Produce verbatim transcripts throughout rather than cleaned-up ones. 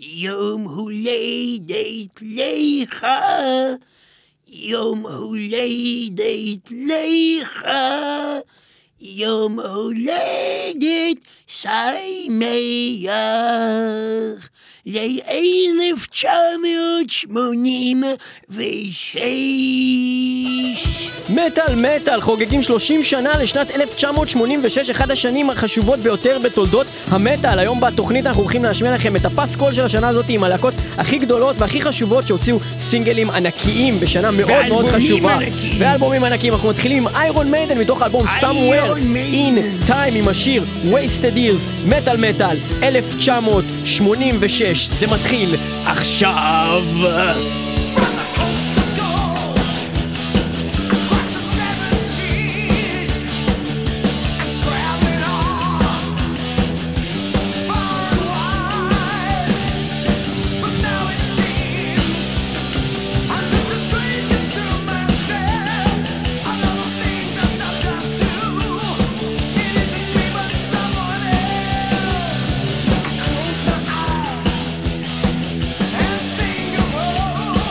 יום הולדת לך, יום הולדת לך, יום הולדת שמח, ל-אלף תשע מאות שמונים ושש. מטל מטל חוגגים שלושים שנה לשנת אלף תשע מאות שמונים ושש, אחד השנים החשובות ביותר בתולדות המטל. היום בתוכנית אנחנו הולכים להשמיע לכם את הפסקול של השנה הזאת עם הלהקות הכי גדולות והכי חשובות שהוציאו סינגלים ענקיים בשנה מאוד מאוד חשובה ענקיים. ואלבומים ענקיים. אנחנו מתחילים עם איירון מיידן מתוך האלבום Somewhere in Time עם השיר Wasted Years. מטל מטל אלף תשע מאות שמונים ושש, זה מתחיל עכשיו. Close my eyes and think of all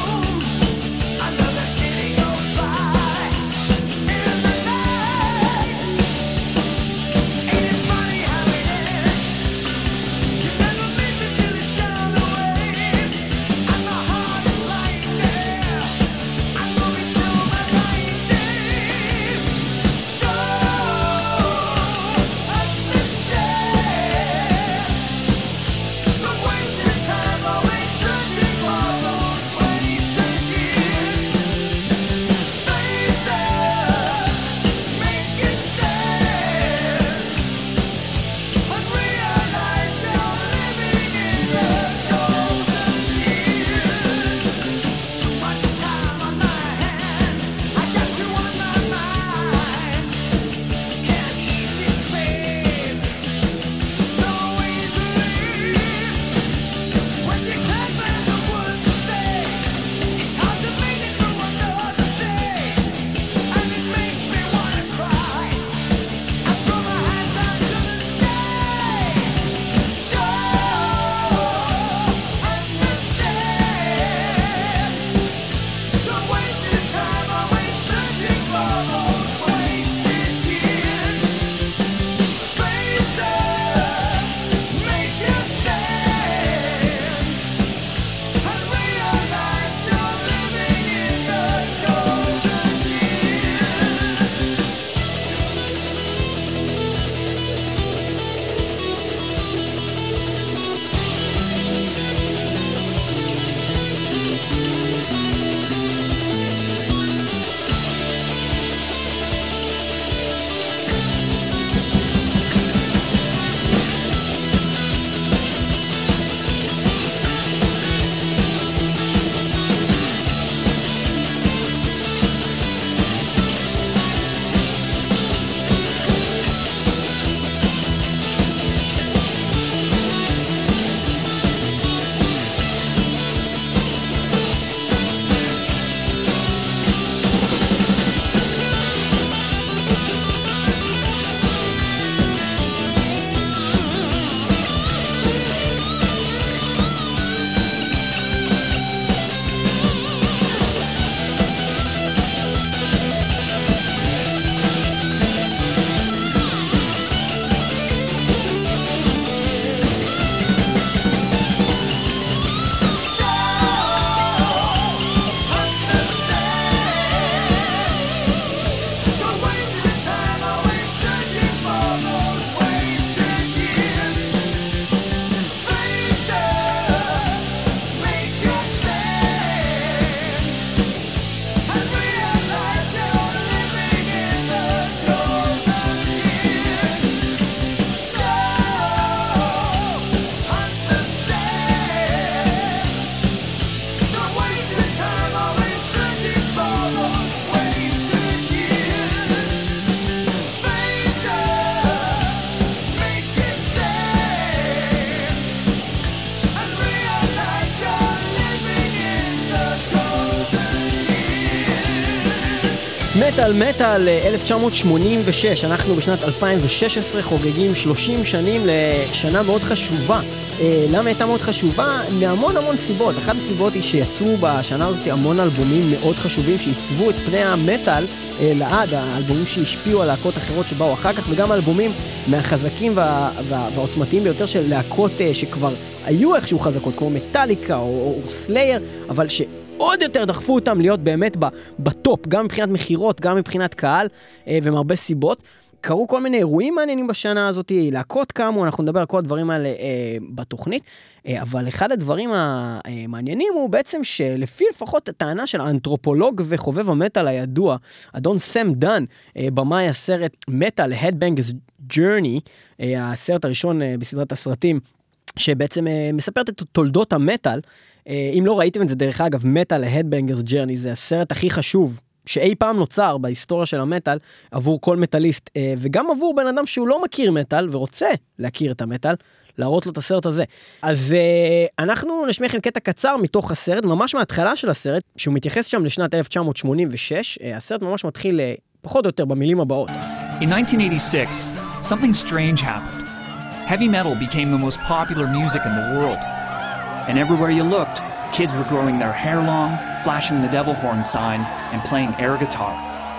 מטל מטל אלף תשע מאות שמונים ושש, אנחנו בשנת אלפיים ושש עשרה חוגגים שלושים שנים לשנה מאוד חשובה. למה הייתה מאוד חשובה? מהמון המון סיבות. אחת הסיבות היא שיצאו בשנה הזאת המון אלבומים מאוד חשובים שעיצבו את פני המטל לעד, האלבומים שהשפיעו על להקות אחרות שבאו אחר כך, וגם אלבומים מהחזקים וה, וה, והעוצמתיים ביותר של להקות שכבר היו איכשהו חזקות, כמו מטליקה או, או סלייר, אבל שעוד יותר דחפו אותם להיות באמת בטופ, גם מבחינת מחירות, גם מבחינת קהל, ומהרבה סיבות. קרו כל מיני אירועים מעניינים בשנה הזאת, להקות קמו, אנחנו נדבר על כל הדברים האלה אה, בתוכנית, אה, אבל אחד הדברים המעניינים הוא בעצם שלפי לפחות הטענה של האנתרופולוג וחובב המטל הידוע, אדון סם דן, אה, במאי הסרט מטל, Headbangers Journey, אה, הסרט הראשון אה, בסדרת הסרטים, שבעצם אה, מספרת את תולדות המטל. אה, אם לא ראיתם את זה דרך אגב, מטל, Headbangers Journey, זה הסרט הכי חשוב, שאי פעם נוצר בהיסטוריה של המטל עבור כל מטליסט, וגם עבור בן אדם שהוא לא מכיר מטל ורוצה להכיר את המטל, להראות לו את הסרט הזה. אז אנחנו נשמיע לכם קטע קצר מתוך הסרט, ממש מההתחלה של הסרט, שהוא מתייחס שם לשנת אלף תשע מאות שמונים ושש, הסרט ממש מתחיל פחות או יותר במילים הבאות. In nineteen eighty-six, something strange happened. Heavy metal became the most popular music in the world. And everywhere you looked, kids were growing their hair long, flashing the devil horn sign, and playing air guitar.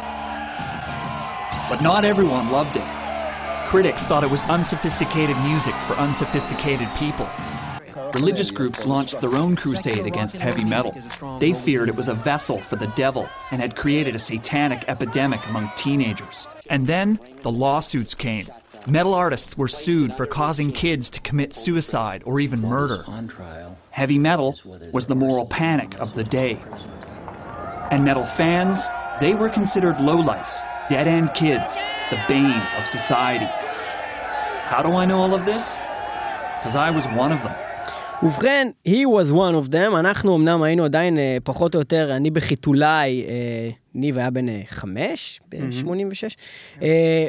But not everyone loved it. Critics thought it was unsophisticated music for unsophisticated people. Religious groups launched their own crusade against heavy metal. They feared it was a vessel for the devil and had created a satanic epidemic among teenagers. And then the lawsuits came. Metal artists were sued for causing kids to commit suicide or even murder. Heavy metal was the moral panic of the day. And metal fans, they were considered lowlifes, dead-end kids, the bane of society. How do I know all of this? Because I was one of them. ובכן, he was one of them, אנחנו אמנם היינו עדיין אה, פחות או יותר, אני בחיתולי, אה, ניב היה בן אה, חמש, ב-שמונים ושש, אה,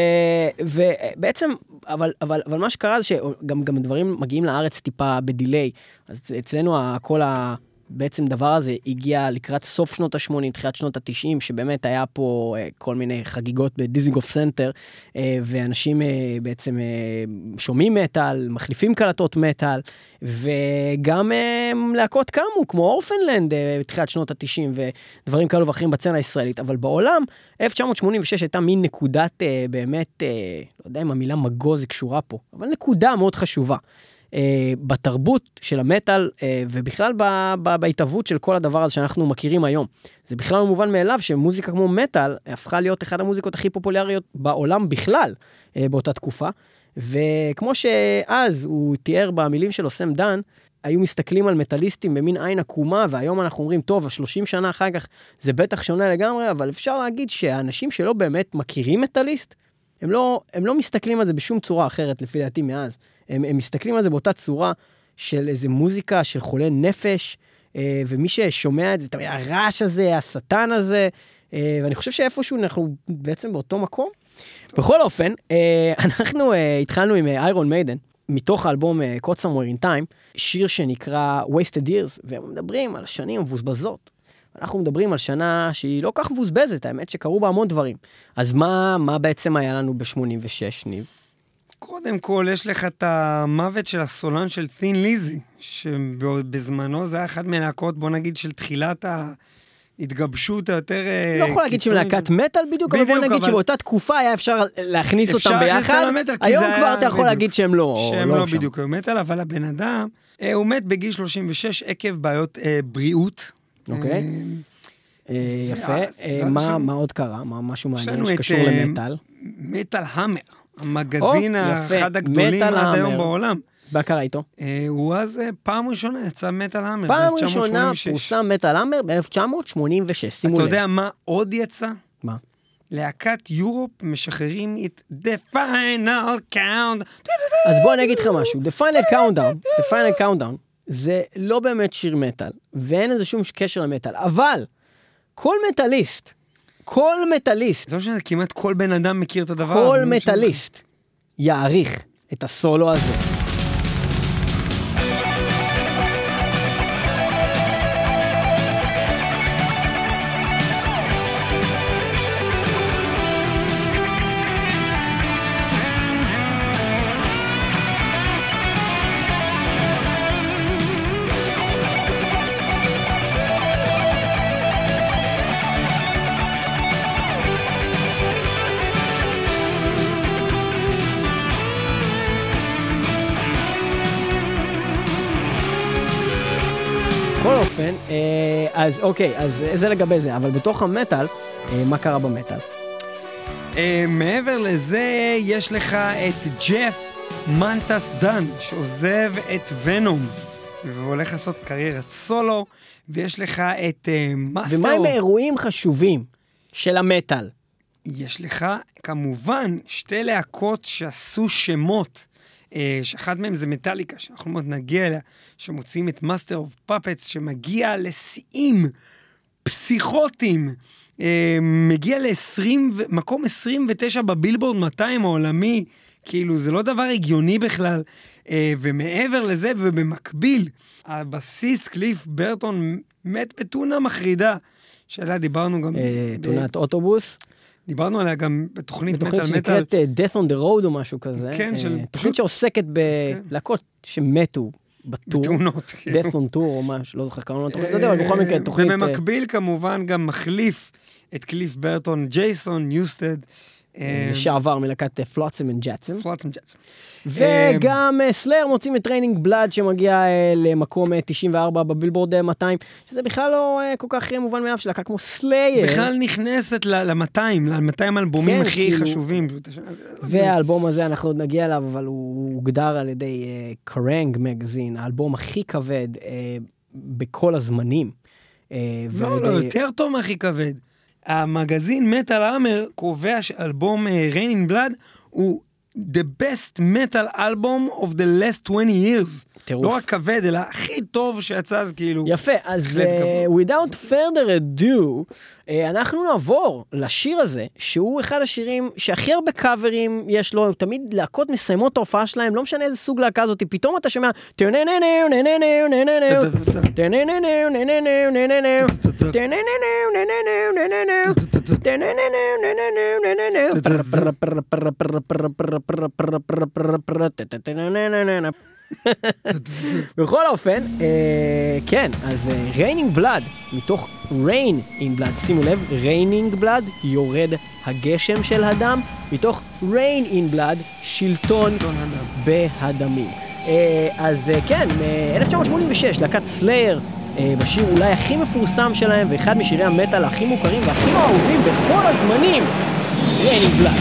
ובעצם, אבל, אבל, אבל מה שקרה זה שגם גם דברים מגיעים לארץ טיפה בדיליי, אז אצלנו כל ה... בעצם דבר הזה הגיע לקראת סוף שנות ה-שמונים, תחילת שנות ה-תשעים, שבאמת היה פה כל מיני חגיגות בדיזינגוף סנטר, ואנשים בעצם שומעים מטל, מחליפים קלטות מטל, וגם להקות קמו, כמו אורפנלנד, בתחילת שנות ה-תשעים, ודברים כאלו ואחרים בצנה הישראלית. אבל בעולם, אלף תשע מאות שמונים ושש הייתה מין נקודת, באמת, לא יודע אם המילה מגוז היא קשורה פה, אבל נקודה מאוד חשובה. Uh, בתרבות של המטל, uh, ובכלל ב- ב- בהתאבות של כל הדבר הזה שאנחנו מכירים היום. זה בכלל מובן מאליו שמוזיקה כמו מטל הפכה להיות אחת המוזיקות הכי פופולריות בעולם בכלל uh, באותה תקופה, וכמו שאז הוא תיאר במילים שלו סם דן, היו מסתכלים על מטליסטים במין עין עקומה, והיום אנחנו אומרים, טוב, שלושים שנה אחר כך זה בטח שונה לגמרי, אבל אפשר להגיד שהאנשים שלא באמת מכירים מטליסט, הם לא, הם לא מסתכלים על זה בשום צורה אחרת לפי דעתי מאז. הם, הם מסתכלים על זה באותה צורה של איזה מוזיקה של חולה נפש, אה, ומי ששומע את זה, תמיד הרעש הזה, השטן הזה, אה, ואני חושב שאיפשהו אנחנו בעצם באותו מקום. טוב. בכל אופן, אה, אנחנו אה, התחלנו עם איירון מיידן, מתוך האלבום אה, Caught Somewhere in Time, שיר שנקרא Wasted Years, והם מדברים על שנים מבוזבזות. אנחנו מדברים על שנה שהיא לא כך מבוזבזת, האמת שקרו בה המון דברים. אז מה, מה בעצם היה לנו ב-שמונים ושש, ניב? קודם כל, יש לך את המוות של הסולן של תין ליזי, שבזמנו זה היה אחד מהלהקות, בוא נגיד, של תחילת ההתגבשות היותר... לא יכול להגיד שמלהקת מטל בדיוק, אבל בוא נגיד שבאותה תקופה היה אפשר להכניס אותם ביחד. היום כבר אתה יכול להגיד שהם לא... שהם לא בדיוק מטל, אבל הבן אדם, הוא מת בגיל שלושים ושש עקב בעיות בריאות. אוקיי. יפה. מה עוד קרה? משהו מעניין שקשור למטל? מטל המר. המגזין האחד הגדולים עד היום בעולם. מה קרה איתו? הוא אז פעם ראשונה יצא מטל המר. פעם ראשונה פורסם מטל המר ב-אלף תשע מאות שמונים ושש. שימו לב. אתה יודע מה עוד יצא? מה? להקת יורופ משחררים את The Final Countdown. אז בוא אני אגיד לך משהו. The Final Countdown, The Final Countdown, זה לא באמת שיר מטל, ואין איזה שום קשר למטל. אבל כל מטליסט, כל מטליסט, זה לא שזה כמעט כל בן אדם מכיר את הדבר כל מטליסט יעריך את הסולו הזה. בכל אופן, אז אוקיי, אז זה לגבי זה, אבל בתוך המטל, מה קרה במטל? מעבר לזה, יש לך את ג'ף מנטס דן, שעוזב את ונום, והולך לעשות קריירת סולו, ויש לך את מאסטר... ומה עם אירועים חשובים של המטל? יש לך, כמובן, שתי להקות שעשו שמות, שאחת מהם זה מטליקה, שאנחנו מאוד נגיע אליה, שמוצאים את מאסטר אוף פאפטס, שמגיע לשיאים פסיכוטיים, מגיע למקום עשרים ותשע בבילבורד מאתיים העולמי, כאילו זה לא דבר הגיוני בכלל, ומעבר לזה ובמקביל, הבסיס קליף ברטון מת בתאונה מחרידה, שעליה דיברנו גם... תאונת אוטובוס. דיברנו עליה גם בתוכנית מטל מטל. בתוכנית שנקראת Death on the Road או משהו כזה. כן, של... תוכנית שעוסקת בלהקות שמתו בטור. בתאונות. Death on Tour או משהו, לא זוכר כמה לא תוכנית, לא יודע, אבל בכל מקרה תוכנית... ובמקביל כמובן גם מחליף את קליף ברטון, ג'ייסון ניוסטד. לשעבר מלהקת פלוטסם אנד ג'טסם. פלוטסם ג'טסם. וגם סלאר מוצאים את ריינינג בלאד שמגיע למקום תשעים וארבע בבילבורד מאתיים, שזה בכלל לא כל כך מובן מאליו, שלהקה כמו סלייר. בכלל נכנסת ל-מאתיים, ל-מאתיים אלבומים הכי חשובים. והאלבום הזה אנחנו עוד נגיע אליו, אבל הוא הוגדר על ידי קרנג מגזין, האלבום הכי כבד בכל הזמנים. לא, לא, יותר טוב מהכי כבד. המגזין מטל אמר קובע שאלבום Raining Blood הוא the best metal album of the last twenty years. טירוף. לא רק כבד, אלא הכי טוב שיצא, אז כאילו... יפה, אז uh, without further ado, uh, אנחנו נעבור לשיר הזה, שהוא אחד השירים שהכי הרבה קאברים יש לו, תמיד להקות מסיימות את ההופעה שלהם, לא משנה איזה סוג להקה הזאת, פתאום אתה שומע... בכל אופן, כן, אז Raining Blood, מתוך Rain in Blood, שימו לב, Raining Blood, יורד הגשם של הדם, מתוך Rain in Blood, שלטון בהדמים. אז כן, אלף תשע מאות שמונים ושש, להקת סלייר, בשיר אולי הכי מפורסם שלהם, ואחד משירי המטל הכי מוכרים והכי אהובים בכל הזמנים, Raining Blood.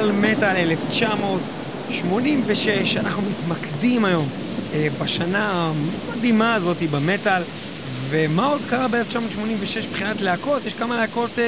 מטל מטל אלף תשע מאות שמונים ושש. אנחנו מתמקדים היום אה, בשנה המדהימה הזאת במטל. ומה עוד קרה ב-אלף תשע מאות שמונים ושש מבחינת להקות? יש כמה להקות אה,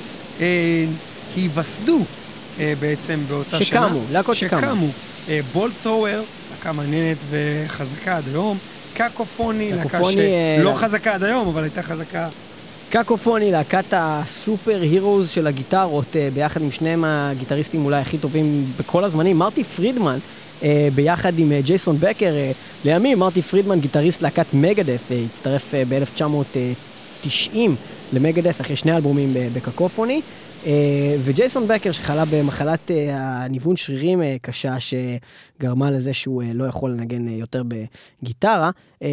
שהיווסדו אה, בעצם באותה שקמו, שנה. להקות שקמו. שקמו. אה, בולט ת'רוור, להקה מעניינת וחזקה עד היום. קקופוני, להקה שלא חזקה עד היום, אבל הייתה חזקה. קקופוני, להקת הסופר הירוז של הגיטרות, ביחד עם שניהם הגיטריסטים אולי הכי טובים בכל הזמנים. מרטי פרידמן, ביחד עם ג'ייסון בקר, לימים מרטי פרידמן, גיטריסט להקת מגדף, הצטרף ב-אלף תשע מאות תשעים למגדף אחרי שני אלבומים בקקופוני. וג'ייסון בקר שחלה במחלת הניוון שרירים קשה שגרמה לזה שהוא לא יכול לנגן יותר בגיטרה.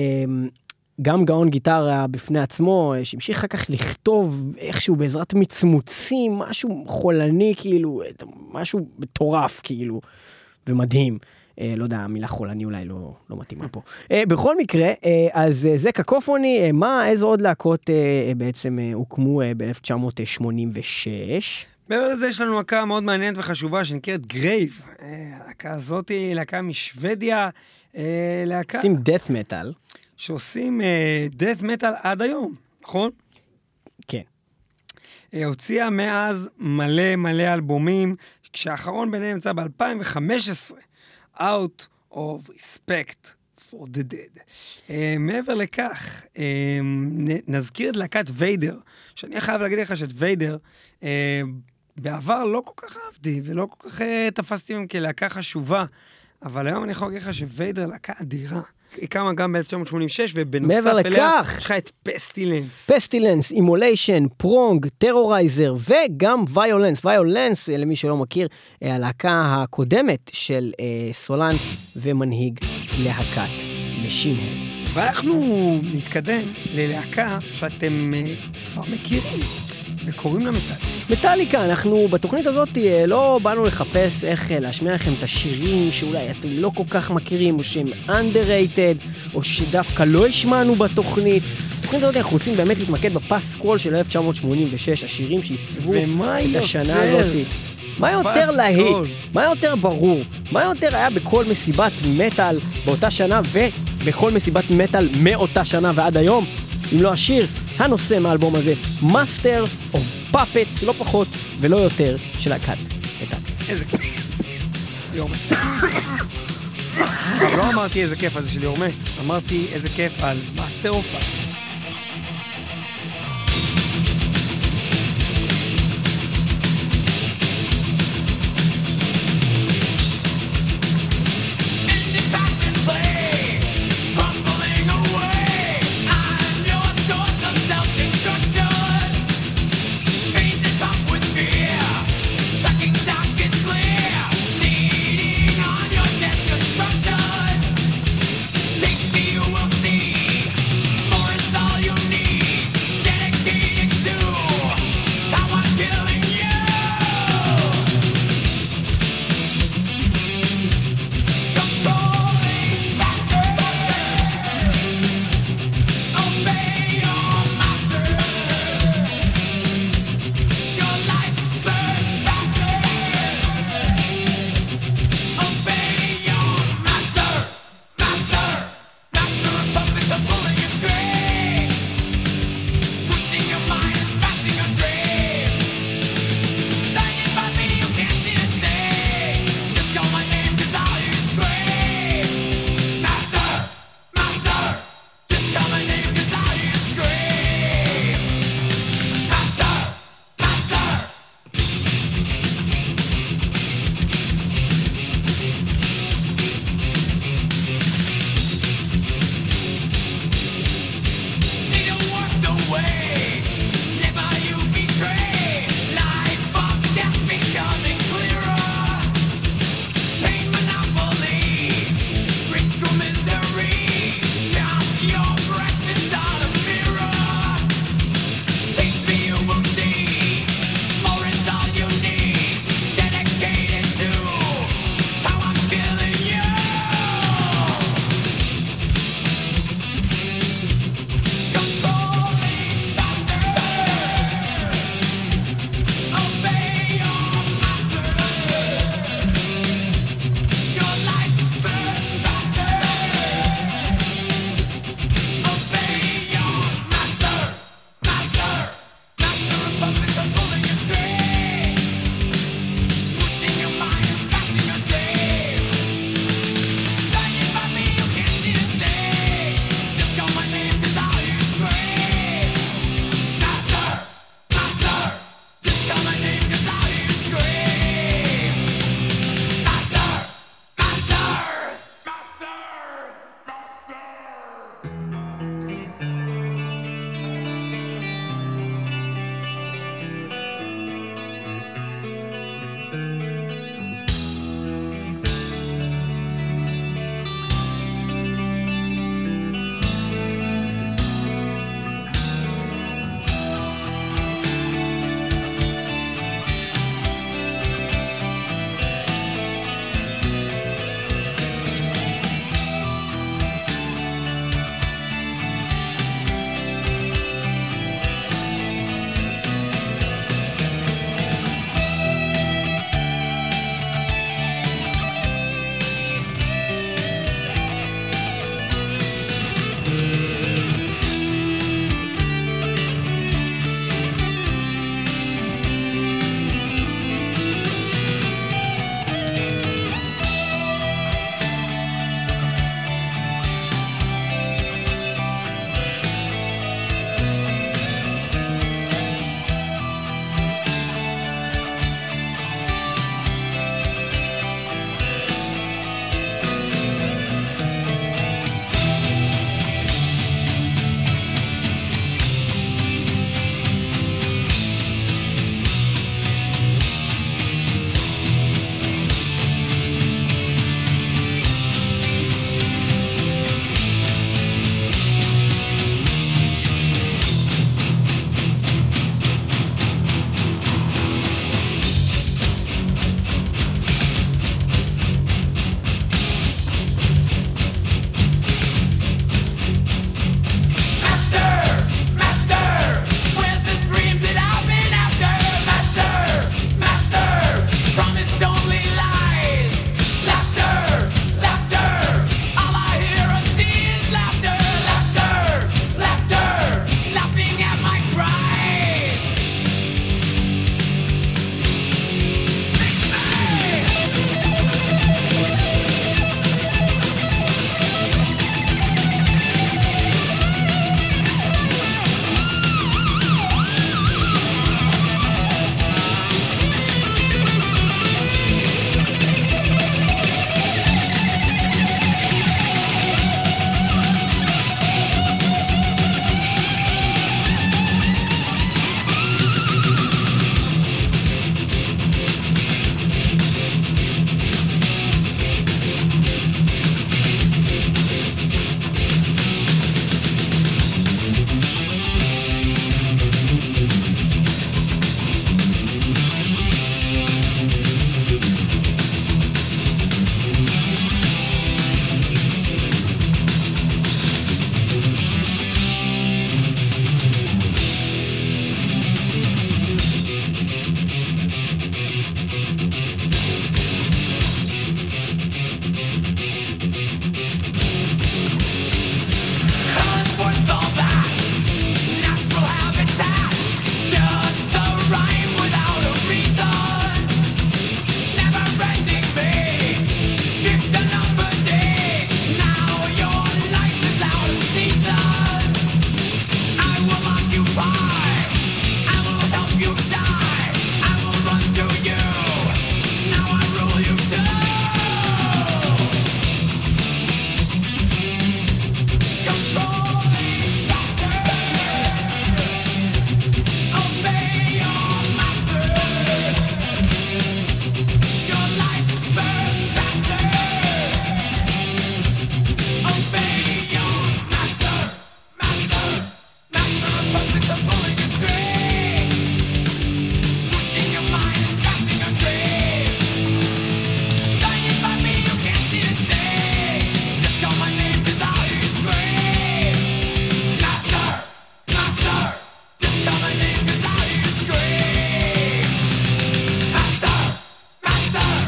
גם גאון גיטרה בפני עצמו, שהמשיך אחר כך לכתוב איכשהו בעזרת מצמוצים, משהו חולני כאילו, משהו מטורף כאילו, ומדהים. לא יודע, המילה חולני אולי לא, לא מתאימה פה. בכל מקרה, אז זה קקופוני, מה, איזו עוד להקות בעצם הוקמו ב-אלף תשע מאות שמונים ושש? מעבר לזה יש לנו להקה מאוד מעניינת וחשובה שנקראת גרייב. הלהקה הזאת היא להקה משוודיה, להקה... עושים death metal. שעושים death metal עד היום, נכון? כן. הוציאה מאז מלא מלא אלבומים, כשהאחרון ביניהם נמצא ב-אלפיים וחמש עשרה. Out of Respect for the Dead. Uh, מעבר לכך, uh, נזכיר את להקת ויידר, שאני חייב להגיד לך שאת ויידר, uh, בעבר לא כל כך אהבתי, ולא כל כך uh, תפסתי מהם כלהקה חשובה, אבל היום אני יכול להגיד לך שוויידר להקה אדירה. היא קמה גם ב-אלף תשע מאות שמונים ושש, ובנוסף אליה, יש לך את פסטילנס. פסטילנס, אימוליישן, פרונג, טרורייזר, וגם ויולנס. ויולנס, למי שלא מכיר, הלהקה הקודמת של אה, סולן ומנהיג להקת משינהד. ואנחנו נתקדם ללהקה שאתם אה, כבר מכירים, וקוראים לה מטאליקה. מטאליקה, אנחנו בתוכנית הזאת לא באנו לחפש איך להשמיע לכם את השירים שאולי אתם לא כל כך מכירים, או שהם underrated, או שדווקא לא השמענו בתוכנית. בתוכנית הזאת אנחנו רוצים באמת להתמקד בפסקול של אלף תשע מאות שמונים ושש, השירים שעיצבו את השנה הזאת. מה יותר להיט? מה יותר ברור? מה יותר היה בכל מסיבת מטל באותה שנה, ובכל מסיבת מטל מאותה שנה ועד היום? אם לא השיר, הנושא מהאלבום הזה, Master of Puppets, לא פחות ולא יותר, של להקת מטאליקה. איזה כיף. ליאור מת. לא אמרתי איזה כיף על זה של ליאור מת, אמרתי איזה כיף על Master of Puppets. Takes me, you will see more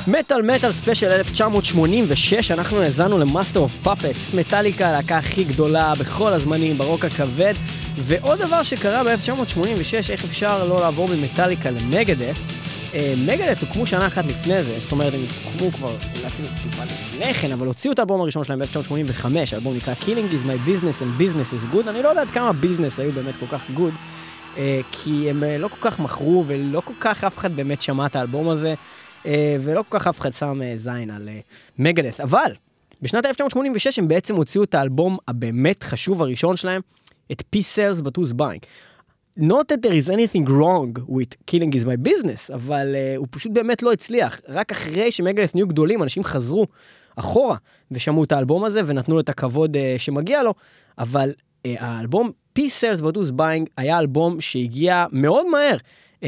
מטל מטל ספיישל אלף תשע מאות שמונים ושש, אנחנו האזנו למאסטר אוף פאפטס, מטאליקה, הלהקה הכי גדולה בכל הזמנים ברוק הכבד. ועוד דבר שקרה ב-אלף תשע מאות שמונים ושש, איך אפשר לא לעבור ממטאליקה למגדף. מגדף הוקמו שנה אחת לפני זה, זאת אומרת הם הוקמו כבר אפילו טיפה לפני כן, אבל הוציאו את האלבום הראשון שלהם ב-אלף תשע מאות שמונים וחמש, האלבום נקרא Killing is my business and business is good. אני לא יודעת כמה ביזנס היו באמת כל כך good, כי הם לא כל כך מכרו ולא כל כך אף אחד באמת שמע את האלבום הזה, ולא כל כך אף אחד שם זין על מגדף. אבל בשנת אלף תשע מאות שמונים ושש הם בעצם הוציאו את האלבום הבאמת חשוב הראשון שלהם, את Peace Sells But Who's Buying. Not that there is anything wrong with Killing is my business, אבל uh, הוא פשוט באמת לא הצליח. רק אחרי שמגדף נהיו גדולים, אנשים חזרו אחורה ושמעו את האלבום הזה ונתנו לו את הכבוד uh, שמגיע לו, אבל uh, האלבום Peace Sells But Who's Buying היה אלבום שהגיע מאוד מהר uh,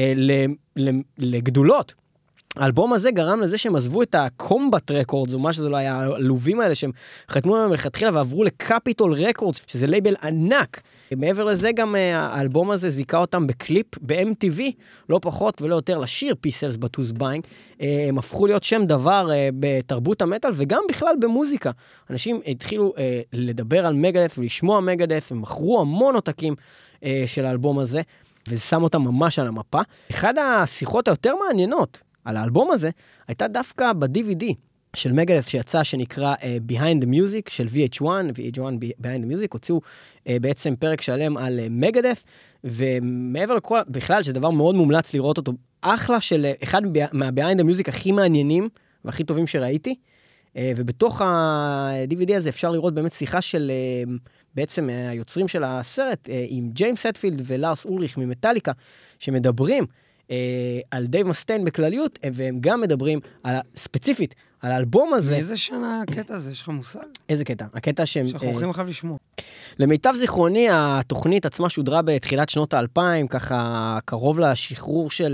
לגדולות. האלבום הזה גרם לזה שהם עזבו את הקומבט רקורדס, או מה שזה לא היה, הלובים האלה שהם חתמו להם מלכתחילה ועברו לקפיטול רקורדס, שזה לייבל ענק. מעבר לזה גם האלבום הזה זיקה אותם בקליפ ב-אם טי וי, לא פחות ולא יותר לשיר Peace Sells But Who's Buying. הם הפכו להיות שם דבר בתרבות המטל וגם בכלל במוזיקה. אנשים התחילו לדבר על מגדף ולשמוע מגדף, הם מכרו המון עותקים של האלבום הזה, וזה שם אותם ממש על המפה. אחד השיחות היותר מעניינות על האלבום הזה, הייתה דווקא ב-די וי די של מגדף שיצא, שנקרא uh, Behind the Music של וי אייץ' וואן, וי אייץ' וואן Behind the Music, הוציאו uh, בעצם פרק שלם על uh, מגדף, ומעבר לכל, בכלל, שזה דבר מאוד מומלץ לראות אותו, אחלה של uh, אחד מה-Behind the Music הכי מעניינים, והכי טובים שראיתי, uh, ובתוך ה-די וי די הזה אפשר לראות באמת שיחה של uh, בעצם uh, היוצרים של הסרט, uh, עם ג'יימס הטפילד ולארס אולריך ממטאליקה, שמדברים, על דייב מסטיין בכלליות, והם גם מדברים על, ספציפית על האלבום הזה. מאיזה שנה הקטע הזה? יש לך מושג? איזה קטע? הקטע שהם... שאנחנו הולכים אחר לשמוע. למיטב זיכרוני, התוכנית עצמה שודרה בתחילת שנות האלפיים, ככה קרוב לשחרור של,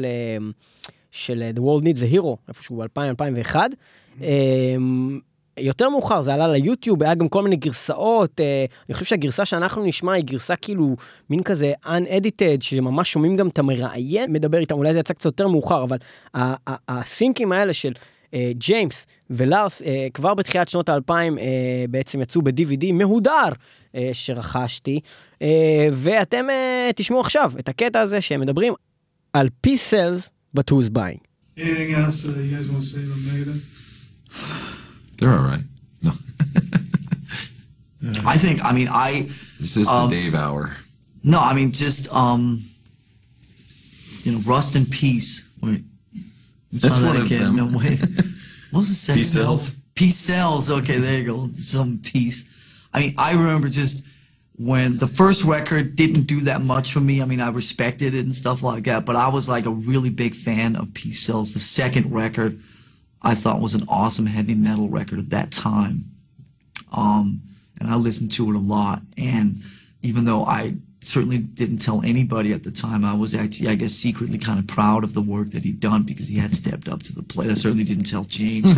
של The World Needs a Hero, איפשהו אלפיים אלפיים ואחת. יותר מאוחר, זה עלה ליוטיוב, היה גם כל מיני גרסאות, אני חושב שהגרסה שאנחנו נשמע היא גרסה כאילו מין כזה unedited, שממש שומעים גם את המראיין, מדבר איתם, אולי זה יצא קצת יותר מאוחר, אבל הסינקים האלה של ג'יימס ולארס, כבר בתחילת שנות האלפיים בעצם יצאו ב-די וי די מהודר שרכשתי, ואתם תשמעו עכשיו את הקטע הזה שהם מדברים על Peace Sells But Who's Buying. Anything else uh, you guys want to say about Megadeth? They're all right. No. I think, I mean, I... This is um, the Dave hour. No, I mean, just, um, you know, Rust in Peace. Wait. That's one of them. No, wait. What was the second? Peace Sells. Peace Sells. Okay, there you go. Some peace. I mean, I remember just when the first record didn't do that much for me. I mean, I respected it and stuff like that, but I was like a really big fan of Peace Sells. The second record I thought was an awesome heavy metal record at that time. Um, and I listened to it a lot. And even though I certainly didn't tell anybody at the time, I was actually, I guess, secretly kind of proud of the work that he'd done because he had stepped up to the plate. I certainly didn't tell James.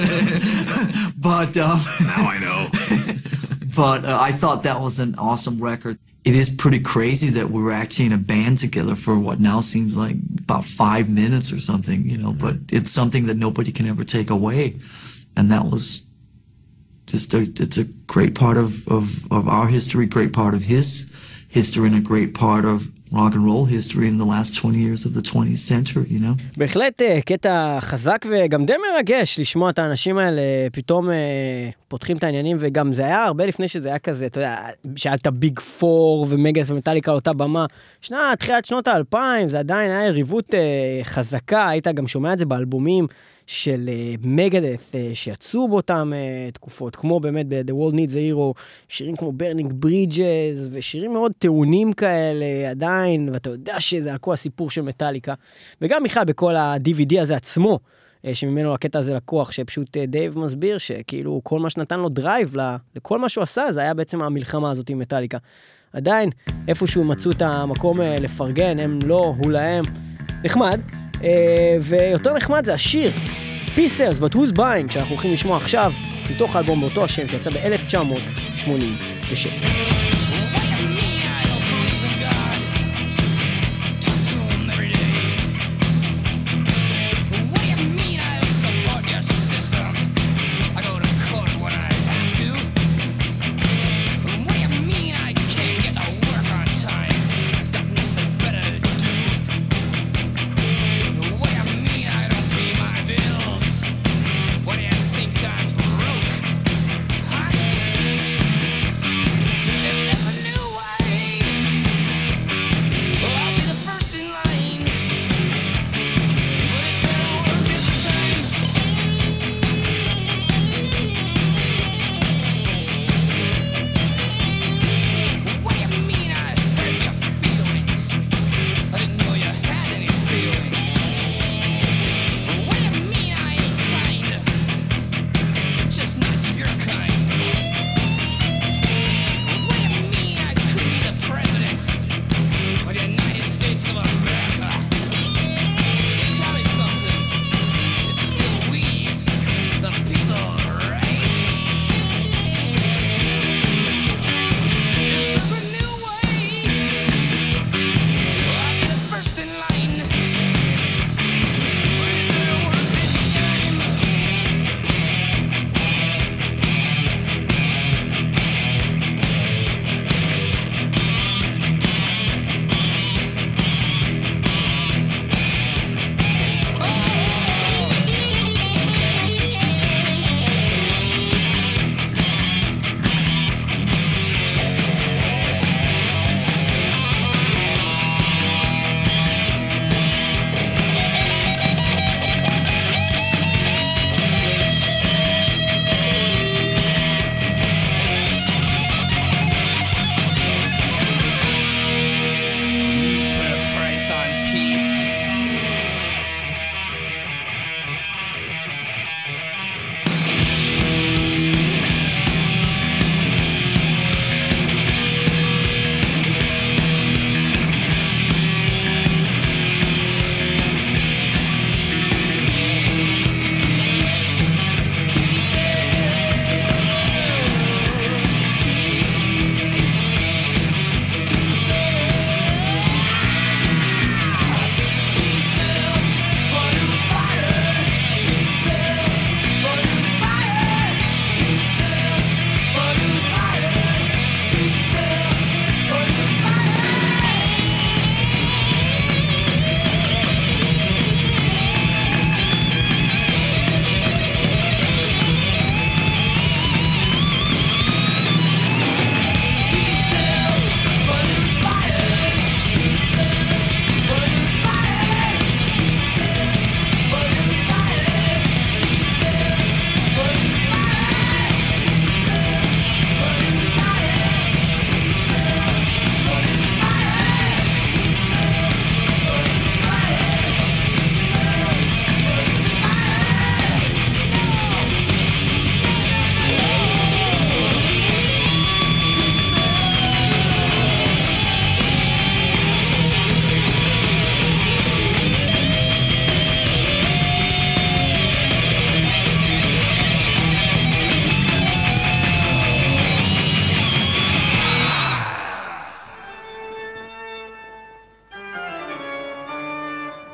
But, um, now I know. But uh, I thought that was an awesome record. It is pretty crazy that we were actually in a band together for what now seems like about five minutes or something, you know, but it's something that nobody can ever take away. And that was just a, it's a great part of, of, of our history, great part of his history, and a great part of rock and roll history in the last twenty years of the twentieth century, you know? בהחלט קטע חזק וגם די מרגש לשמוע את האנשים האלה פתאום פותחים את העניינים, וגם זה היה הרבה לפני שזה היה כזה, אתה יודע, שאלת ביג פור ומגדף ומטאליקה על אותה במה. שנה, תחילת שנות האלפיים, זה עדיין היה יריבות חזקה, היית גם שומע את זה באלבומים של מגדף שיצאו באותם תקופות, כמו באמת ב-The World Needs a Hero, שירים כמו Burning Bridges, ושירים מאוד טעונים כאלה עדיין, ואתה יודע שזה על כל הסיפור של מטאליקה, וגם בכלל בכל ה-די וי די הזה עצמו, שממנו הקטע הזה לקוח, שפשוט דייב מסביר שכאילו כל מה שנתן לו דרייב לכל מה שהוא עשה, זה היה בעצם המלחמה הזאת עם מטאליקה. עדיין, איפשהו מצאו את המקום לפרגן, הם לא, הוא להם, נחמד, ויותר נחמד זה השיר Peace Sells But Who's Buying, שאנחנו הולכים לשמוע עכשיו מתוך האלבום באותו השם שיצא ב-אלף תשע מאות שמונים ושש.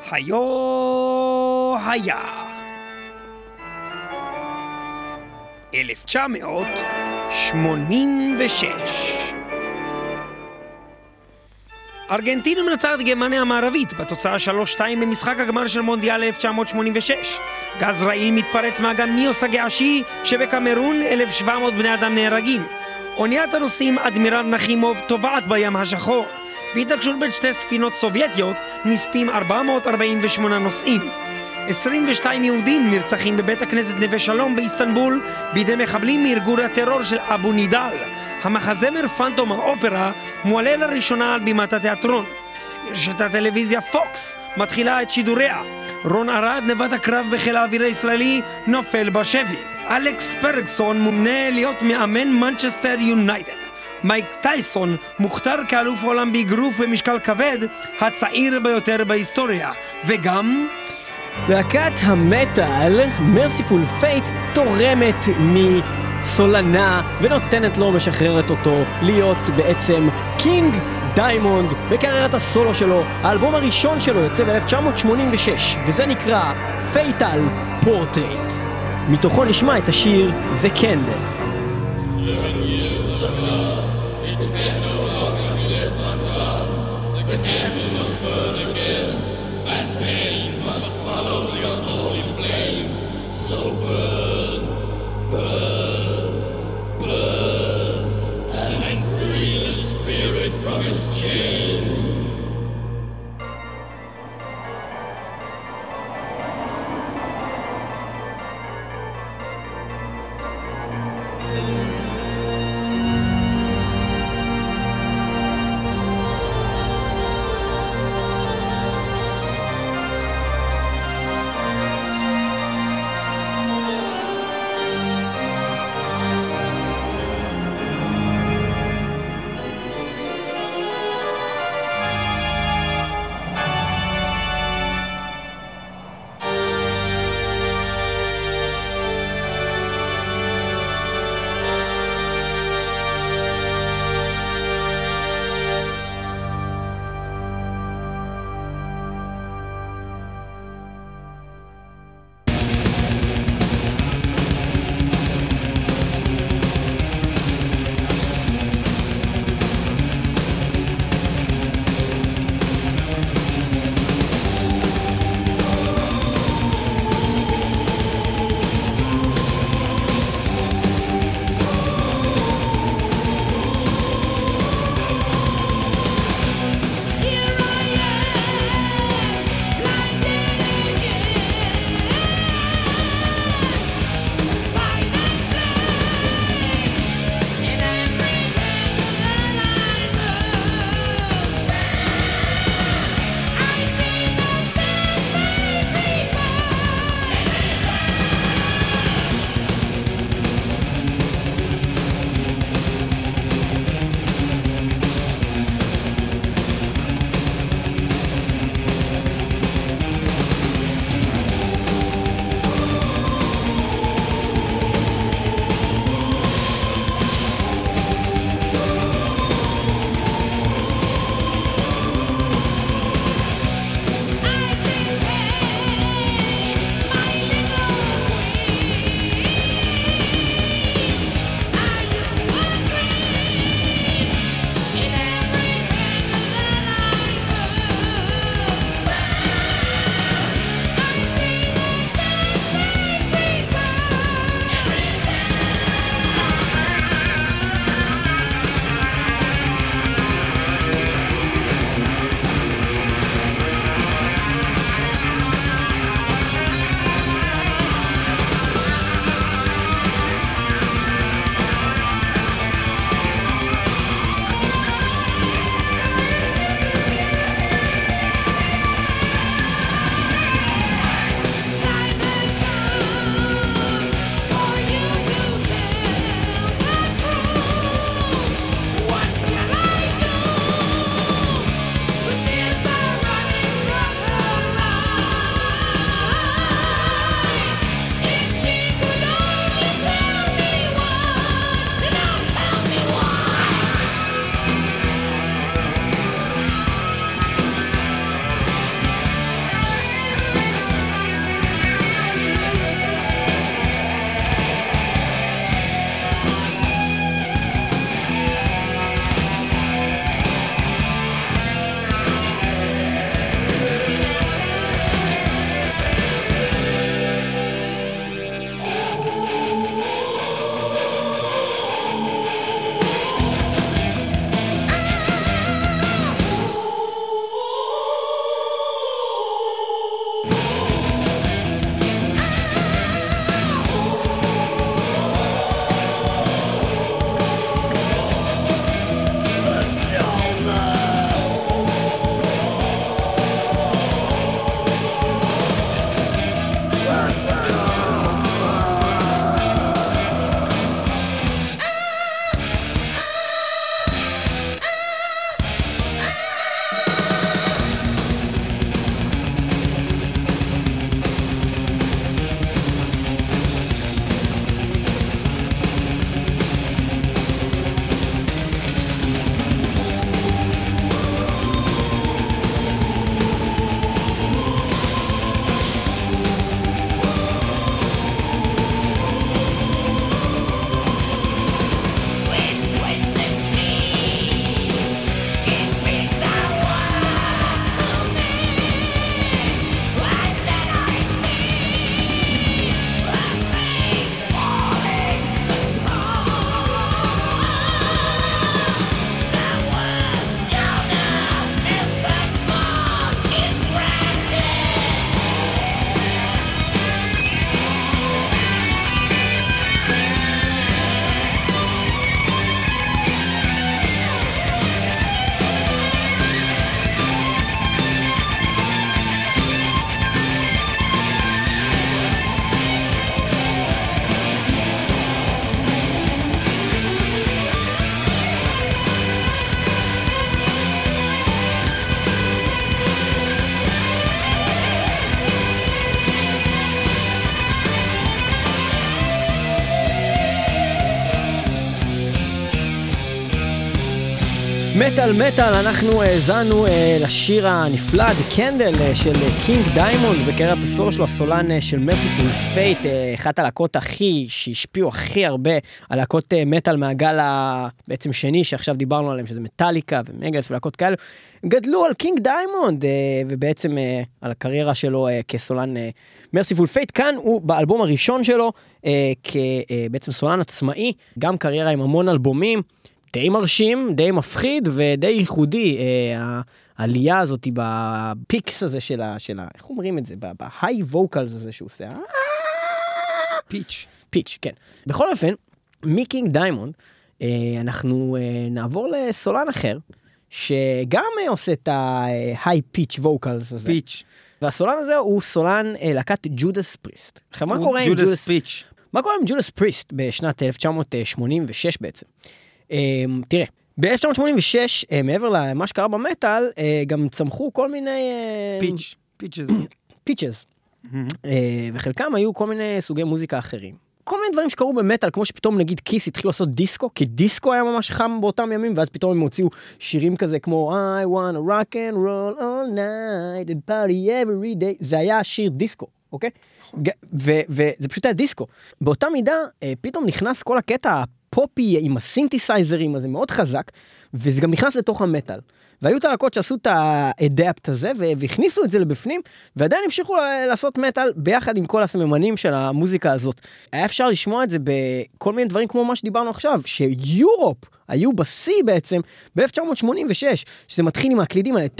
היו היה. אלף תשע מאות שמונים ושש. ארגנטינה מנצחת גרמניה המערבית בתוצאה שלוש שתיים במשחק הגמר של מונדיאל אלף תשע מאות שמונים ושש. גז רעיל מתפרץ מאגם ניוס הגעשי שבקמרון, אלף ושבע מאות בני אדם נהרגים. אוניית הנוסעים אדמירל נחימוב טובעת בים השחור. בהתנגשות בין שתי ספינות סובייטיות נספים ארבע מאות ארבעים ושמונה נוסעים. עשרים ושתיים יהודים נרצחים בבית הכנסת נווה שלום באיסטנבול בידי מחבלים מארגון הטרור של אבו נידל. המחזמר פנטום האופרה מועלה לראשונה על בימת התיאטרון. רשת הטלוויזיה פוקס מתחילה את שידוריה. רון ארד, נווט הקרב בחיל האוויר הישראלי, נופל בשבי. אלכס פרגסון מומנה להיות מאמן מנצ'סטר יונייטד. מייק טייסון מוכתר כאלוף עולם באגרוף במשקל כבד, הצעיר ביותר בהיסטוריה. וגם להקת המטל, מרסיפול פייט, תורמת מסולנה ונותנת לו, משחררת אותו להיות בעצם קינג דיימונד בקריירת הסולו שלו. האלבום הראשון שלו יוצא ב-אלף תשע מאות שמונים ושש וזה נקרא פייטל פורטרייט. מתוכו נשמע את השיר The Candle. מטל מטל, אנחנו האזנו לשיר הנפלא The Candle של קינג דיימונד, בקריירת הסולו שלו, הסולן של מרסיפול פייט, אחת הלהקות הכי, שהשפיעו הכי הרבה על להקות מטל מהגל בעצם שני שעכשיו דיברנו עליהם, שזה מטליקה ומגלס ולהקות כאלה, גדלו על קינג דיימונד, ובעצם על הקריירה שלו כסולן מרסיפול פייט. כאן הוא באלבום הראשון שלו כבעצם סולן עצמאי, גם קריירה עם המון אלבומים, די מרשים, די מפחיד ודי ייחודי, אה, העלייה הזאת בפיקס הזה של ה... של ה איך אומרים את זה? בהיי ווקלס הזה שהוא עושה. פיץ'. פיץ', כן. בכל אופן, מקינג דיימונד, אה, אנחנו אה, נעבור לסולן אחר, שגם אה, עושה את ההיי פיץ' ווקלס הזה. פיץ'. והסולן הזה הוא סולן אה, להקת ג'ודס פריסט. עכשיו, מה קורה עם ג'ודס פיץ'? מה קורה עם ג'ודס פריסט בשנת אלף תשע מאות שמונים ושש בעצם? Um, תראה, ב-אלף תשע מאות שמונים ושש, uh, מעבר למה שקרה במטל, uh, גם צמחו כל מיני... פיץ', פיצ'ז. פיצ'ז. וחלקם היו כל מיני סוגי מוזיקה אחרים. כל מיני דברים שקרו במטל, כמו שפתאום נגיד קיס התחילו לעשות דיסקו, כי דיסקו היה ממש חם באותם ימים, ואז פתאום הם הוציאו שירים כזה כמו I wanna rock and roll all night and party every day. זה היה שיר דיסקו, אוקיי? וזה פשוט היה דיסקו. באותה מידה, פתאום נכנס כל הקטע פופי עם הסינתסייזרים הזה מאוד חזק, וזה גם נכנס לתוך המטל. והיו את הלהקות שעשו את האדפט הזה, והכניסו את זה לבפנים, ועדיין המשיכו לעשות מטל ביחד עם כל הסממנים של המוזיקה הזאת. היה אפשר לשמוע את זה בכל מיני דברים כמו מה שדיברנו עכשיו, שיורופ היו בשיא בעצם ב-אלף תשע מאות שמונים ושש, שזה מתחיל עם הקלידים האלה,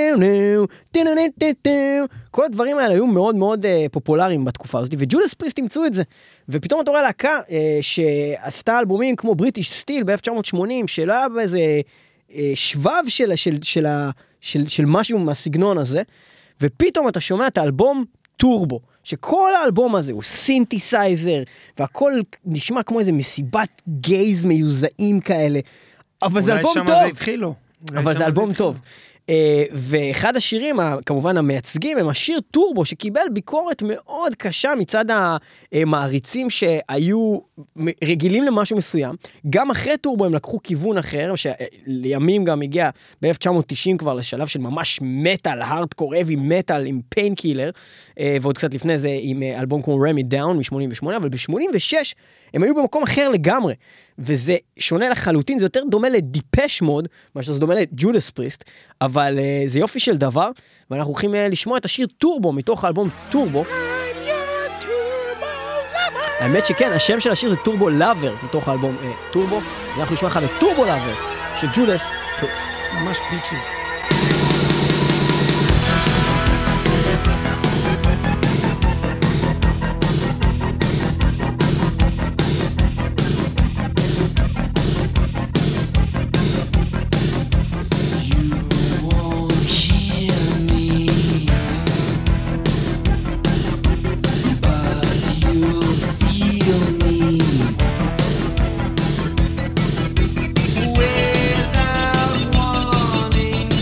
כל הדברים האלה היו מאוד מאוד פופולריים בתקופה הזאת, וג'ודס פריסט ימצאו את זה. ופתאום אתה רואה להקה שעשתה אלבומים כמו בריטיש סטיל ב-אלף תשע מאות שמונים, שלא היה באיזה שבב של, של, של, של, של משהו מהסגנון הזה, ופתאום אתה שומע את האלבום טורבו, שכל האלבום הזה הוא סינתסייזר, והכל נשמע כמו איזה מסיבת גייז מיוזעים כאלה, אבל זה אלבום טוב. אולי שם זה התחילו. אבל זה אלבום טוב. ואחד השירים, כמובן המייצגים, הם השיר טורבו, שקיבל ביקורת מאוד קשה מצד המעריצים שהיו רגילים למשהו מסוים. גם אחרי טורבו הם לקחו כיוון אחר, שלימים גם הגיע ב-אלף תשע מאות תשעים כבר לשלב של ממש מטל, הארדקור, אבי מטל עם פיינקילר, ועוד קצת לפני זה עם אלבום כמו רמי דאון מ-שמונים ושמונה, אבל ב-שמונים ושש הם היו במקום אחר לגמרי, וזה שונה לחלוטין, זה יותר דומה לדיפש מוד, מה שזה דומה לג'ודס פריסט, אבל uh, זה יופי של דבר, ואנחנו הולכים uh, לשמוע את השיר טורבו, מתוך האלבום טורבו. האמת שכן, השם של השיר זה טורבו לאבר, מתוך האלבום uh, טורבו, ואנחנו נשמע לך בטורבו לאבר, של ג'ודס פריסט. ממש פיצ'ז. Without warning.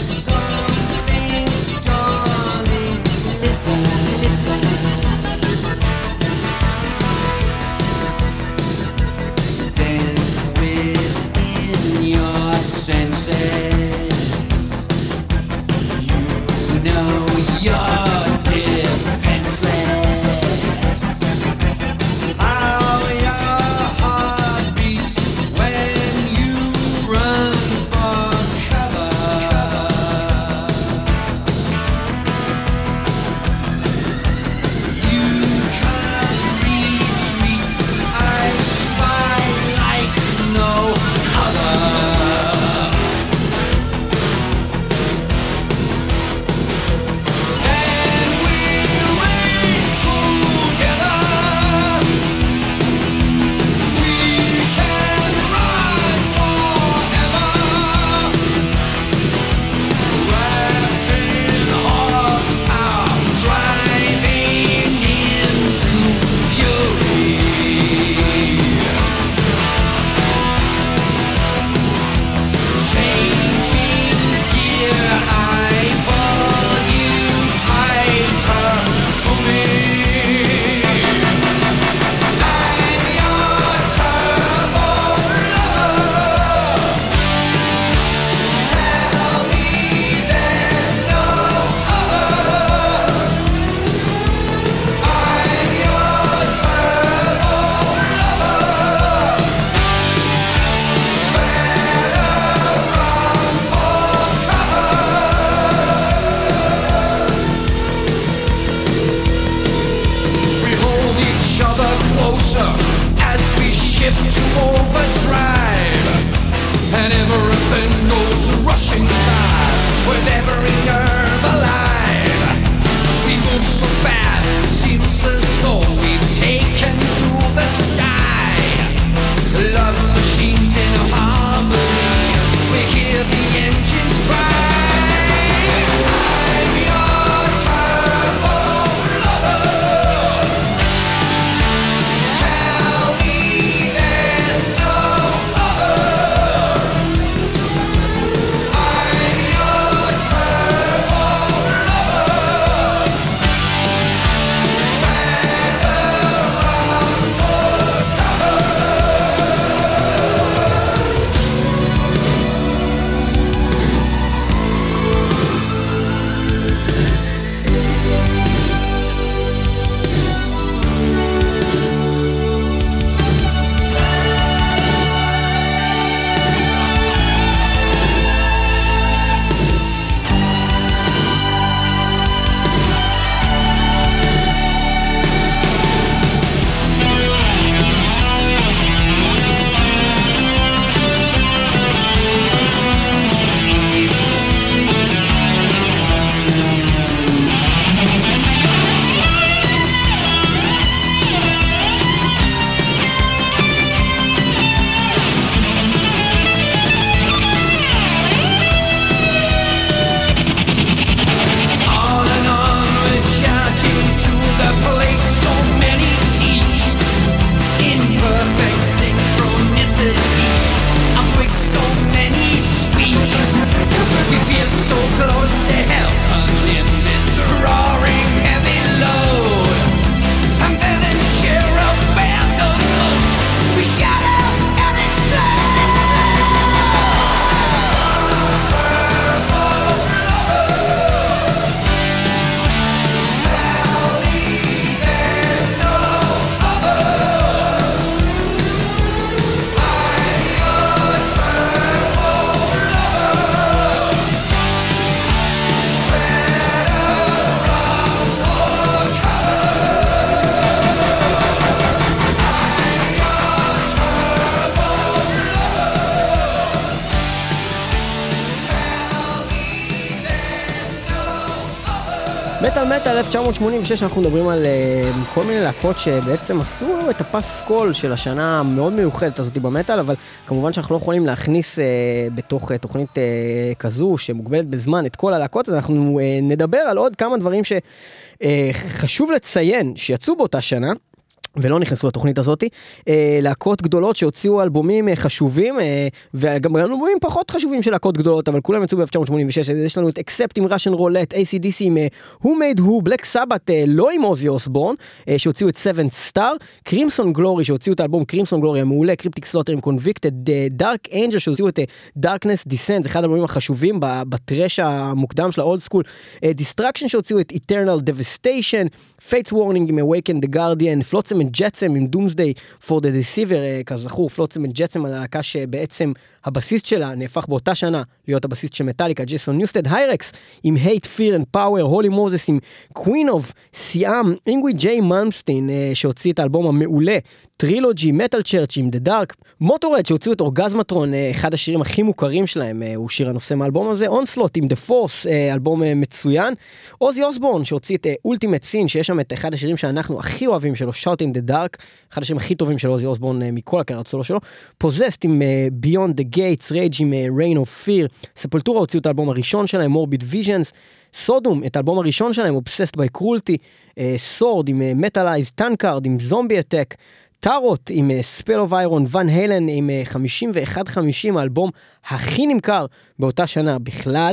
מטל מטל אלף תשע מאות שמונים ושש אנחנו מדברים על uh, כל מיני להקות שבעצם עשו את הפסקול של השנה המאוד מיוחדת הזאת במטל, אבל כמובן שאנחנו לא יכולים להכניס uh, בתוך uh, תוכנית uh, כזו שמוגבלת בזמן את כל הלהקות, אז אנחנו uh, נדבר על עוד כמה דברים שחשוב uh, לציין שיצאו באותה שנה, ולא נכנסו לתוכנית הזאת, אה, להקות גדולות שהוציאו אלבומים אה, חשובים, אה, וגם אלבומים פחות חשובים של להקות גדולות, אבל כולם יצאו ב-אלף תשע מאות שמונים ושש, יש לנו את Accept עם Russian Roulette, איי סי די סי עם אה, Who Made Who, Black Sabbath, אה, לא עם אוזי אוסבורן, אה, שהוציאו את Seven Star, Crimson Glory, שהוציאו את האלבום Crimson Glory המעולה, Cryptic Slaughter עם Convicted, אה, Dark Angel, שהוציאו את אה, Darkness Descent, זה אחד האלבומים החשובים בטרש המוקדם של האולד סקול, אה, Destruction שהוציאו את Eternal Devastation, Fates Warning עם Awaken the Guardian, Flotsam and Jetsam עם Doomsday for the Deceiver, כזכור, Flotsam and Jetsam, הלהקה שבעצם הבסיסט שלה נהפך באותה שנה להיות הבסיסט של מטאליקה, ג'ייסון ניוסטד, היירקס עם Hate, Fear and Power, הולי מוזס עם Queen of סיאם, אינגווי ג'יי מלמסטין שהוציא את האלבום המעולה, טרילוגי, מטל צ'רץ' עם The Dark, מוטורד שהוציאו את אורגזמטרון, אחד השירים הכי מוכרים שלהם, הוא שיר הנושא מהאלבום הזה, אונסלוט עם The Force, אלבום מצוין, אוזי אוסבורן שהוציא את Ultimate Sin, שיש שם את אחד השירים שאנחנו הכי אוהבים שלו, Shout in the Dark, אחד השירים הכי טובים של אוזי אוסבורן מכל הקריירה הסולו שלו, Possessed עם Beyond the Gates, Rage עם Reign of Fear, ספולטורה הוציאו את האלבום הראשון שלהם, Morbid Visions, סודום, את האלבום הראשון שלהם, Obsessed by Cruelty, סורד עם Metalized, Tankard עם Zombie Attack, טארוט עם ספל אוף איירון, ון הלן עם חמישים ואחת חמישים, האלבום הכי נמכר באותה שנה בכלל,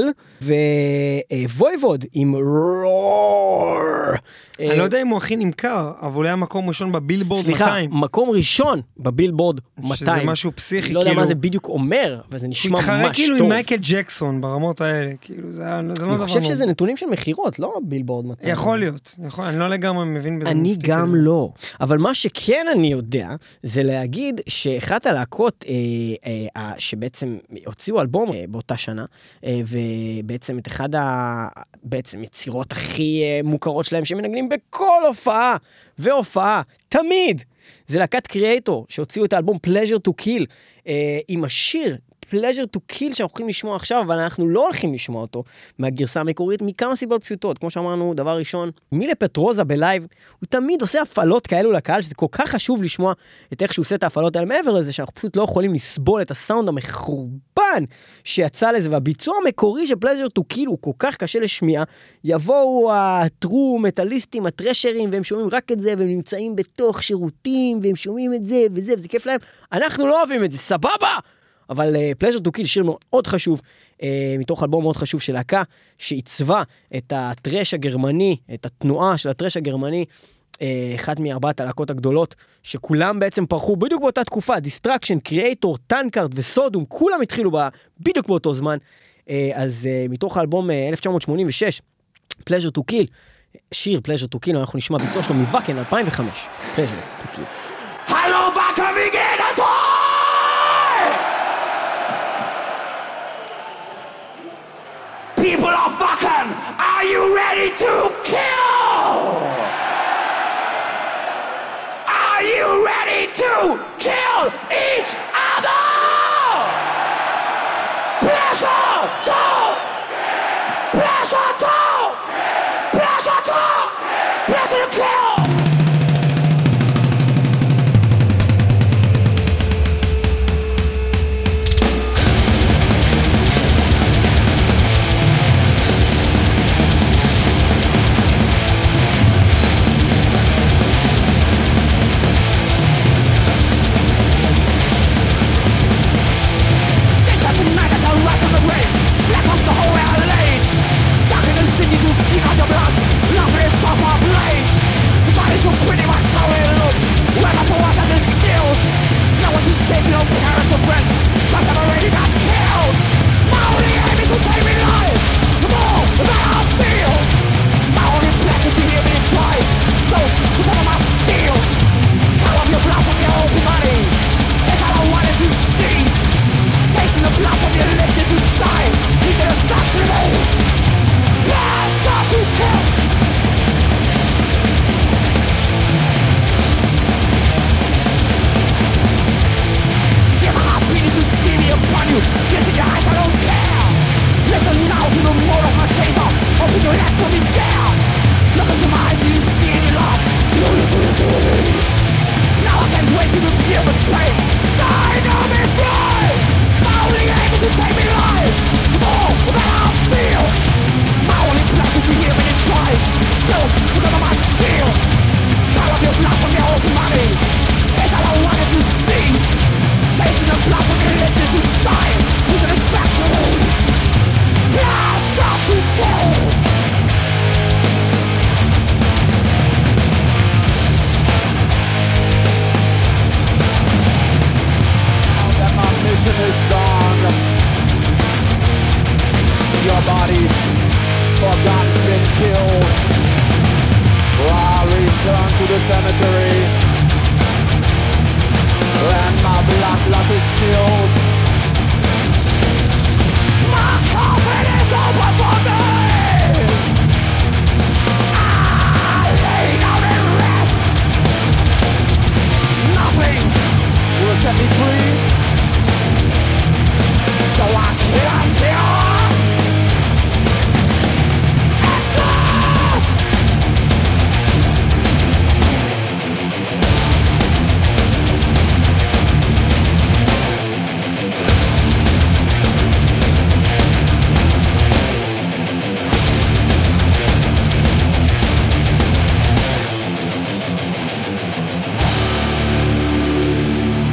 וויבוד עם רור. אני לא יודע אם הוא הכי נמכר, אבל הוא היה מקום ראשון בבילבורד מאתיים. סליחה, מקום ראשון בבילבורד מאתיים. שזה משהו פסיכי, לא יודע מה זה בדיוק אומר, אבל זה נשמע ממש טוב. התחרה כאילו עם מייקל ג'קסון ברמות האלה, כאילו זה לא דבר מאוד. אני חושב שזה נתונים של מחירות, לא בילבורד מאתיים. יכול להיות, אני לא לגמרי מבין בזה. אני גם לא, אבל מה שכן אני יודע, זה להגיד שאחת הלהקות שבעצם הוציאו אלבום באותה שנה, ובעצם את אחד בעצם יצירות הכי מוכרות שלהם שמנגנים בכל הופעה והופעה, תמיד, זה להקת קריאטור, שהוציאו את האלבום Pleasure to Kill, עם השיר Pleasure to Kill שאנחנו הולכים לשמוע עכשיו, אבל אנחנו לא הולכים לשמוע אותו מהגרסה המקורית, מכמה סיבות פשוטות. כמו שאמרנו, דבר ראשון, מילה פטרוזה בלייב, הוא תמיד עושה הפעלות כאלו לקהל, שזה כל כך חשוב לשמוע את איך שהוא עושה את ההפעלות האלה, מעבר לזה שאנחנו פשוט לא יכולים לסבול את הסאונד המחורבן שיצא לזה, והביצוע המקורי של Pleasure to Kill הוא כל כך קשה לשמיעה, יבואו הטרו מטליסטים, הטרשרים, והם שומעים רק את זה, והם נמצאים בתוך שירותים, והם שומעים את זה וזה, וזה כיף להם. אנחנו לא אוהבים את זה, סבבה! אבל uh, Pleasure to Kill, שיר מאוד חשוב, uh, מתוך אלבום מאוד חשוב של להקה, שעיצבה את הטרש הגרמני, את התנועה של הטרש הגרמני, uh, אחת מארבעת הלהקות הגדולות, שכולם בעצם פרחו בדיוק באותה תקופה, Destruction, Creator, Tankard וסודום, כולם התחילו בה, בדיוק באותו זמן, uh, אז uh, מתוך האלבום uh, אלף תשע מאות שמונים ושש, Pleasure to Kill, שיר Pleasure to Kill, אנחנו נשמע ביצוע שלו מווקן, אלפיים וחמש, Pleasure to Kill. Hallo, Wacker, wie geht es euch? People are fucking, are you ready to kill? Are you ready to kill each other? Pleasure to, pleasure to, pleasure to, pleasure to kill. Black was the whole L A. Darker than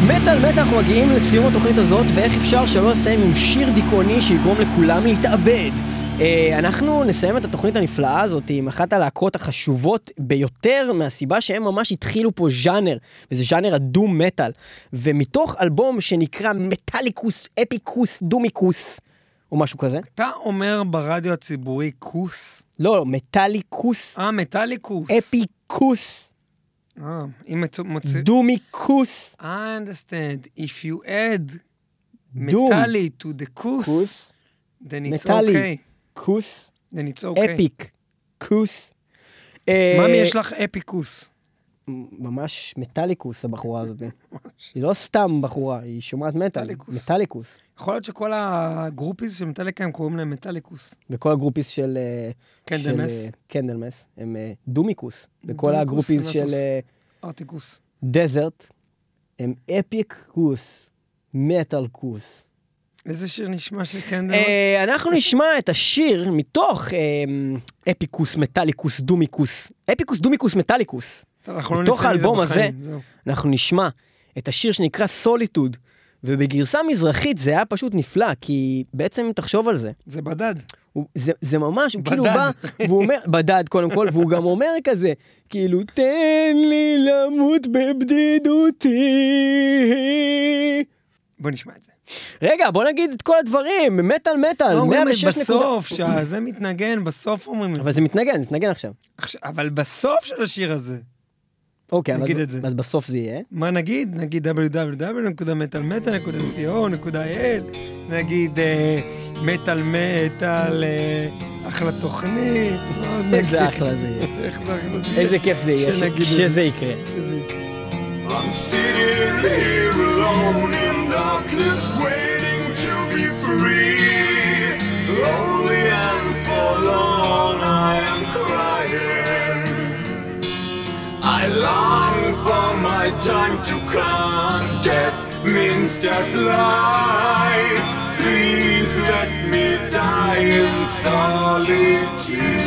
מטל מטל, אנחנו מגיעים לסיום התוכנית הזאת, ואיך אפשר שלא לסיים עם שיר דיכאוני שיגרום לכולם להתאבד. אנחנו נסיים את התוכנית הנפלאה הזאת עם אחת הלהקות החשובות ביותר, מהסיבה שהם ממש התחילו פה ז'אנר, וזה ז'אנר הדום מטל, ומתוך אלבום שנקרא מטליקוס, אפיקוס, דומיקוס, או משהו כזה. אתה אומר ברדיו הציבורי קוס? לא, לא, מטליקוס. אה, מטליקוס. אפיקוס. אה, אם מוצא... דומיקוס. I understand. If you add metalli to the kus, then it's okay. קוס. then it's okay. אפיק. קוס. ממי, יש לך אפיקוס. ממש מטליקוס הבחורה הזאת. היא לא סתם בחורה, היא שומעת מטל. מטליקוס. יכול להיות שכל הגרופיס של מטליקה הם קוראים להם מטליקוס. וכל הגרופיס של... קנדלמס. קנדלמס. הם דומיקוס. וכל הגרופיס של... ארטיקוס. דזרט. הם אפיקוס. מטלקוס. איזה שיר נשמע של קנדלמס? אנחנו נשמע את השיר מתוך אפיקוס, מטליקוס, דומיקוס. אפיקוס, דומיקוס, מטליקוס. מתוך האלבום הזה, אנחנו נשמע את השיר שנקרא סוליטוד, ובגרסה מזרחית זה היה פשוט נפלא, כי בעצם תחשוב על זה. זה בדד. זה, זה ממש, הוא כאילו בא, והוא אומר, בדד קודם כל, והוא גם אומר כזה, כאילו, תן לי למות בבדידותי. בוא נשמע את זה. רגע, בוא נגיד את כל הדברים, מטל מטל, מאה ושש בסוף, שזה מתנגן, בסוף אומרים את זה. אבל זה מתנגן, מתנגן עכשיו. אבל בסוף של השיר הזה. אוקיי, נגיד את זה. אז בסוף זה יהיה. מה נגיד? נגיד דאבליו דאבליו דאבליו נקודה מטל מטל נקודה סי או נקודה איי אל, נגיד מטל מטל, אחלה תוכנית. איזה אחלה זה יהיה. איזה כיף זה יהיה, שזה יקרה. I'm sitting here alone in darkness, waiting to be free. Lonely and forlorn, I am crying. I long for my time to come. Death means just life. Please let me die in solitude.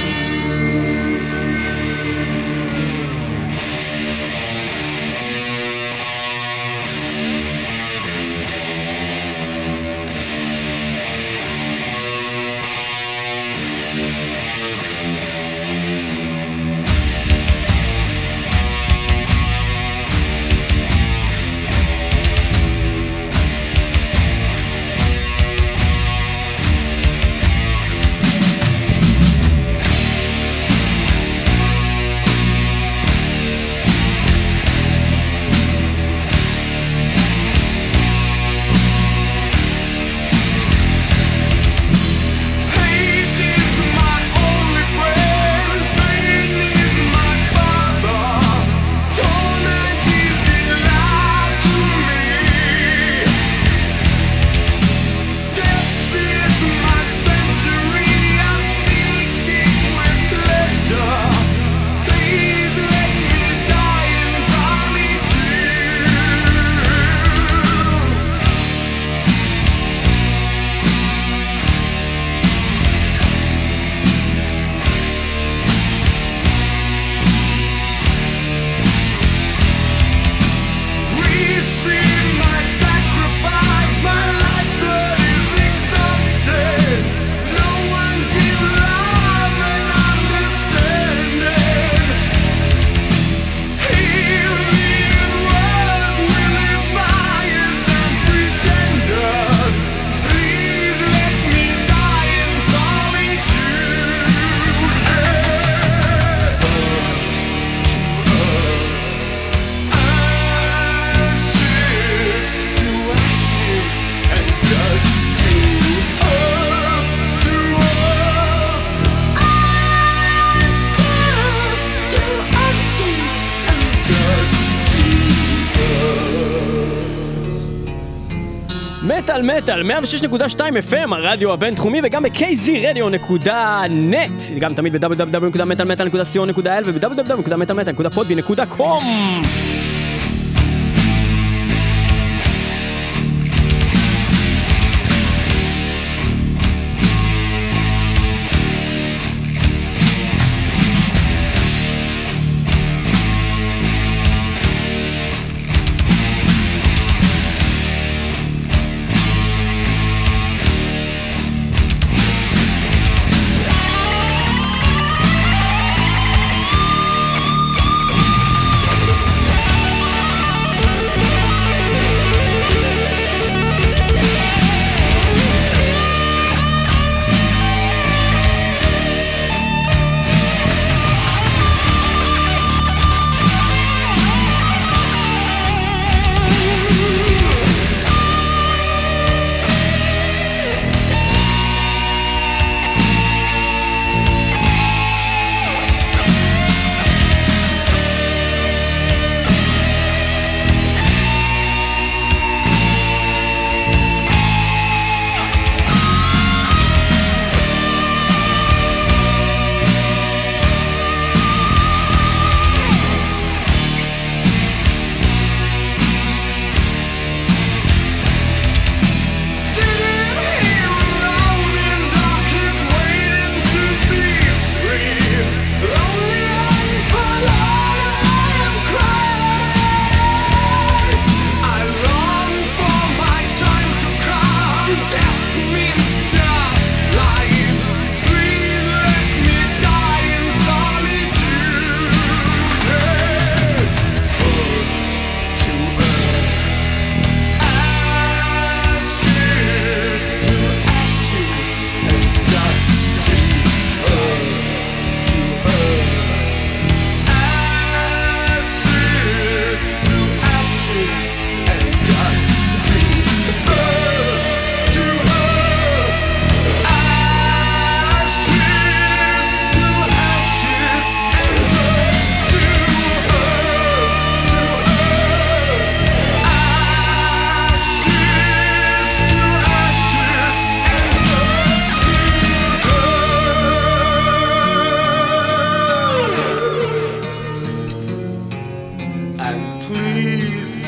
מטל מטל, מאה ושש נקודה שתיים אף אם, הרדיו הבינתחומי, וגם ב-קיי זי רדיו נקודה נט, גם תמיד ב-דאבליו דאבליו דאבליו נקודה מטל מטל נקודה סי או נקודה איי אל וב-דאבליו דאבליו דאבליו נקודה מטל מטל נקודה פודבי נקודה קום.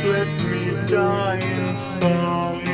let me die in song.